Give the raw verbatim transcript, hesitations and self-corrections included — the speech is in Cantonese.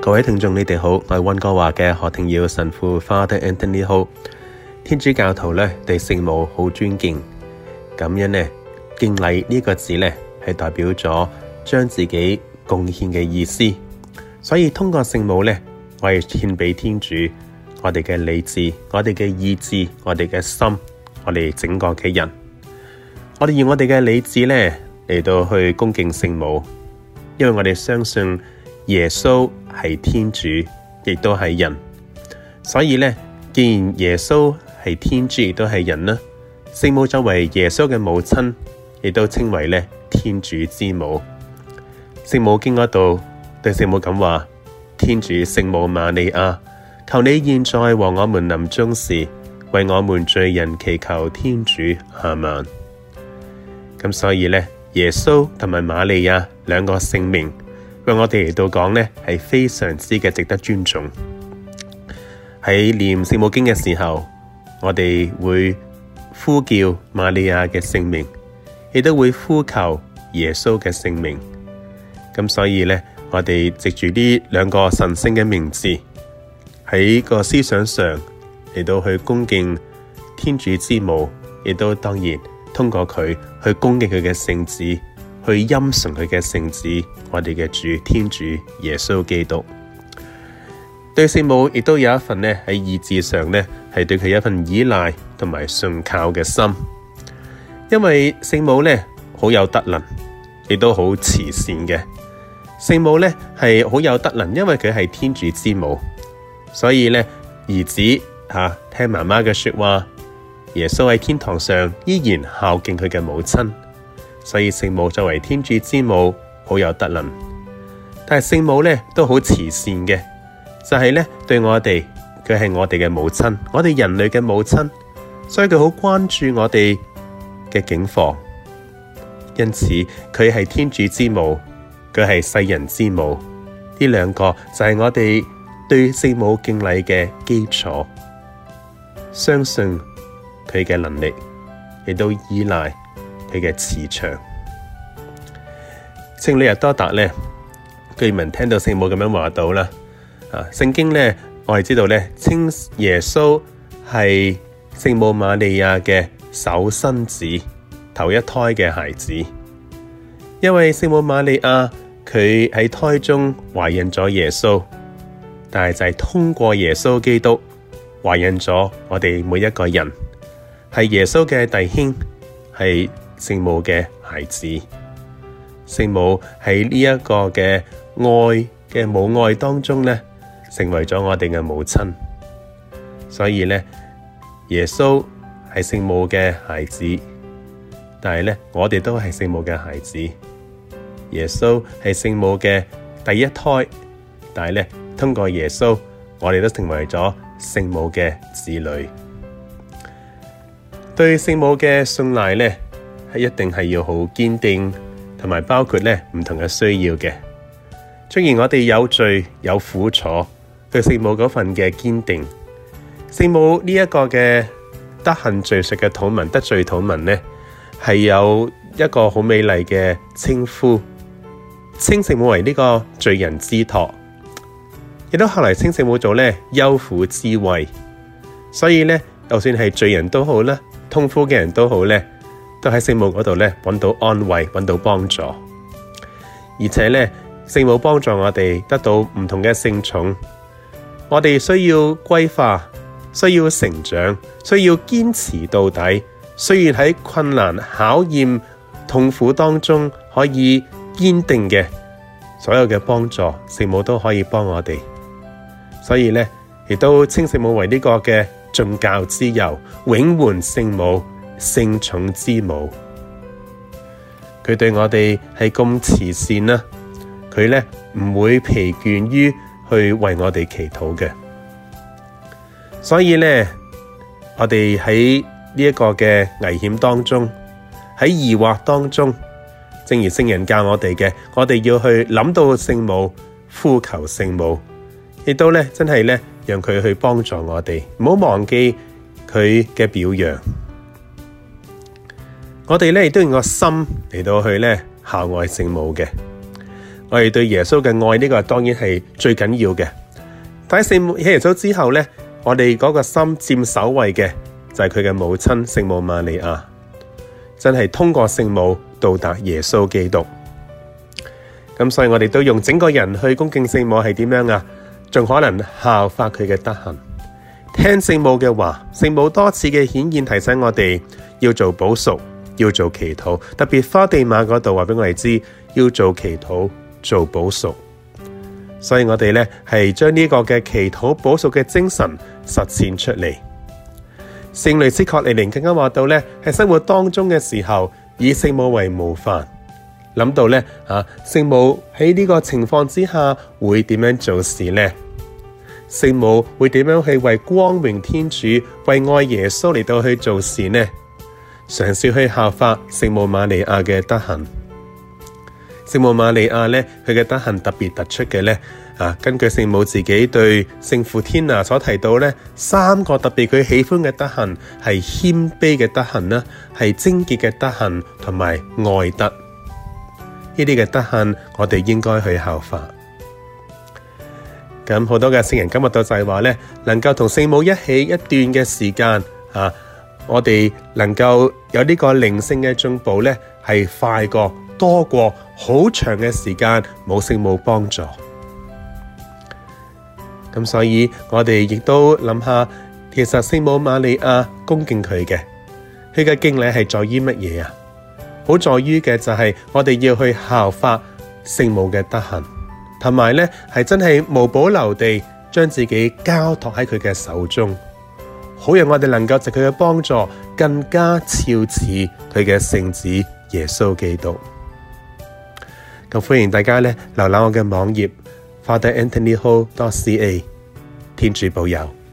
各位聽眾，你哋好，我係溫哥華嘅何庭耀神父 Father Anthony Ho。天主教徒咧對聖母好尊敬，咁樣咧敬禮呢個字咧係代表咗將自己貢獻嘅意思，所以通過聖母咧，我係獻俾天主我哋嘅理智、我哋嘅意志、我哋嘅心、我哋整個嘅人，我哋用我哋嘅理智咧嚟到去恭敬聖母，因為我哋相信耶穌係天主，亦都係人，所以咧，既然耶穌係天主，亦都係人啦，聖母作為耶穌嘅母親，亦都稱為咧天主之母。聖母經嗰度對聖母咁話：天主聖母瑪利亞，求你現在和我們臨終時，為我們罪人祈求天主。阿們。咁所以咧，耶穌同埋瑪利亞兩個聖名，為我哋嚟到講咧，係非常之嘅值得尊重。喺念聖母經嘅時候，我哋會呼叫瑪利亞嘅聖名，亦都會呼求耶穌嘅聖名。咁所以咧，我哋藉住呢兩個神聖嘅名字，喺個思想上嚟到去恭敬天主之母，亦都當然通過佢去恭敬佢嘅聖子，去欽崇佢嘅聖子，我哋嘅主天主耶穌基督。對聖母亦都有一份咧喺意志上咧係對佢一份依賴同埋信靠嘅心，因為聖母咧好有德能，亦都好慈善嘅。聖母咧係好有德能，因為佢係天主之母，所以咧兒子吓、啊、聽媽媽嘅說話，耶穌喺天堂上依然孝敬佢嘅母親。所以聖母作為天主之母好有德能，但係聖母咧都好慈善嘅，就係咧對我哋，佢係我哋嘅母親，我哋人類嘅母親，所以佢好關注我哋嘅境況。因此佢係天主之母，佢係世人之母，呢兩個就係我哋對聖母敬禮嘅基礎。相信佢嘅能力，亦都依賴佢嘅慈祥。聖女日多達咧，據聞聽到聖母咁樣話到啦。啊，聖經咧，我係知道咧，稱耶穌係聖母瑪利亞嘅首生子，頭一胎嘅孩子。因為聖母瑪利亞佢喺胎中懷孕咗耶穌，但係就係通過耶穌基督懷孕咗我哋每一個人，係耶穌嘅弟兄，係聖母嘅孩子。聖母喺呢一個嘅愛嘅母愛當中咧，成為咗我哋嘅母親。所以咧，耶穌係聖母嘅孩子，但係咧，我哋都係聖母嘅孩子。耶穌係聖母嘅第一胎，但係咧，通過耶穌，我哋都成為咗聖母嘅子女。對聖母嘅信賴咧，係一定係要好堅定，同埋包括咧唔同嘅需要嘅。雖然我哋有罪有苦楚，對聖母嗰份嘅堅定，聖母呢一個嘅德行敘述嘅禱文，得罪禱文咧，係有一個好美麗嘅稱呼，稱聖母為呢個罪人之托，亦都後來稱聖母做咧憂苦之慰。所以咧，就算係罪人都好啦，痛苦嘅人都好咧，都喺聖母嗰度咧揾到安慰，揾到幫助。而且咧，聖母幫助我哋得到唔同嘅聖寵，我哋需要歸化，需要成長，需要堅持到底。雖然喺困難、考驗、痛苦當中可以堅定嘅，所有嘅幫助，聖母都可以幫我哋。所以咧，亦都稱聖母為呢個嘅眾教之佑、永援聖母、聖寵之母。佢對我哋係咁慈善啦，佢咧唔會疲倦於去為我哋祈禱嘅。所以咧，我哋喺呢一個嘅危險當中，喺疑惑當中，正如聖人教我哋嘅，我哋要去諗到聖母，呼求聖母，亦都咧真係咧讓佢去幫助我哋，唔好忘記佢嘅表揚。我哋咧亦都用個心嚟到去咧孝愛聖母嘅。 我哋對耶穌嘅愛呢個當然係最緊要嘅。但喺聖母喺耶穌之後咧，我哋嗰個心佔首位嘅就係佢嘅母親聖母瑪利亞，真係通過聖母到達耶穌基督。咁所以我哋都用整個人去恭敬聖母係點樣啊？仲可能效法佢嘅德行，聽聖母嘅話。聖母多次嘅顯現提醒我哋要做補贖，要做祈禱，特別花地瑪嗰度話俾我哋知要做祈禱做補贖。所以我哋咧係將呢個嘅祈禱補贖嘅精神實踐出嚟。聖雷斯確利寧更加話到咧，喺生活當中嘅時候以聖母為模範，諗到咧啊，聖母喺呢個情況之下會點樣做事呢？聖母會點樣去為光榮天主、為愛耶穌嚟到去做事呢？嘗試去效法聖母瑪利亞嘅德行。聖母瑪利亞咧，佢嘅德行特別突出嘅咧，啊，根據聖母自己對聖父天啊所提到咧，三個特別佢喜歡嘅德行係謙卑嘅德行啦，係貞潔嘅德行同埋愛德。呢啲嘅德行，我哋應該去效法。咁好多嘅聖人今日都就係話咧，能夠同聖母一起一段嘅時間啊，我哋能夠有呢個靈性嘅進步咧，係快過多過好長嘅時間冇聖母幫助。咁所以我哋亦都諗下，其實聖母瑪利亞恭敬佢嘅，佢嘅敬禮係在於乜嘢啊？好在於嘅就係我哋要去效法聖母嘅德行，同埋咧係真係無保留地將自己交託喺佢嘅手中，好讓我哋能夠藉佢嘅幫助更加肖似佢嘅聖子耶穌基督。咁歡迎大家咧瀏覽我嘅網頁 father anthony ho dot c a， 天主保佑。